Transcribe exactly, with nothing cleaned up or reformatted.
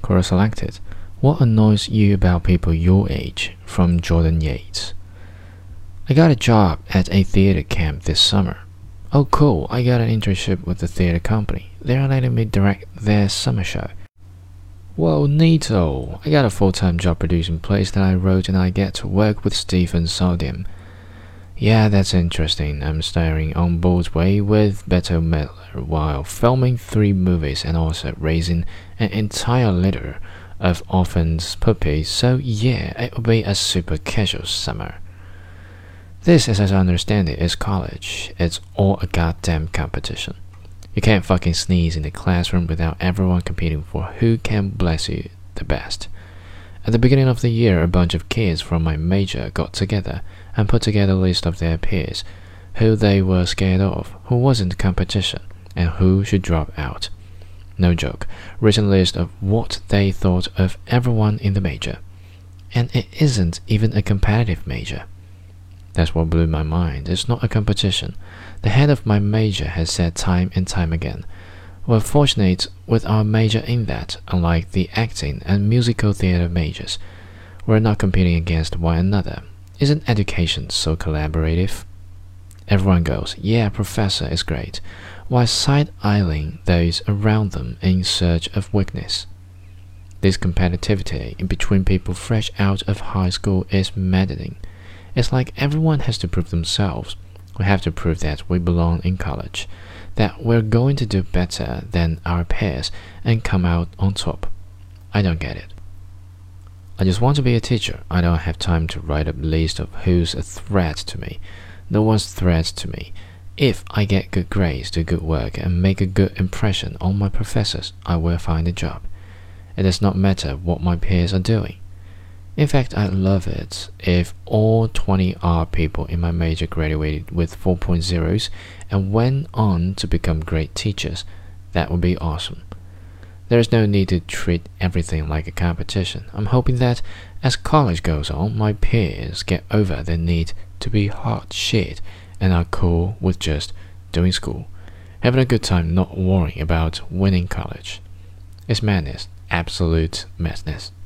Quora selected. What annoys you about people your age? From Jordan Yates. I got a job at a theater camp this summer. Oh cool, I got an internship with the theater company. They're letting me direct their summer show. Whoa, neato. I got a full-time job producing plays that I wrote and I get to work with Stephen Sodium. Yeah, that's interesting. I'm starring on Broadway with Bette Midler while filming three movies and also raising an entire litter of orphans puppies, so yeah, it will be a super casual summer. This, as I understand it, is college. It's all a goddamn competition. You can't fucking sneeze in the classroom without everyone competing for who can bless you the best. At the beginning of the year, a bunch of kids from my major got together and put together a list of their peers, who they were scared of, who wasn't competition, and who should drop out. No joke, written list of what they thought of everyone in the major. And it isn't even a competitive major. That's what blew my mind. It's not a competition. The head of my major has said time and time again, we're fortunate with our major in that, unlike the acting and musical theater majors, we're not competing against one another. Isn't education so collaborative? Everyone goes, yeah, professor is great, while side-eyeing those around them in search of weakness. This competitivity in between people fresh out of high school is maddening. It's like everyone has to prove themselves. We have to prove that we belong in college, that we're going to do better than our peers and come out on top. I don't get it. I just want to be a teacher. I don't have time to write a list of who's a threat to me. No one's threat to me. If I get good grades, do good work, and make a good impression on my professors, I will find a job. It does not matter what my peers are doing. In fact, I'd love it if all twenty art people in my major graduated with four point ohs and went on to become great teachers. That would be awesome. There is no need to treat everything like a competition. I'm hoping that as college goes on, my peers get over the need to be hot shit and are cool with just doing school, having a good time, not worrying about winning college. It's madness, absolute madness.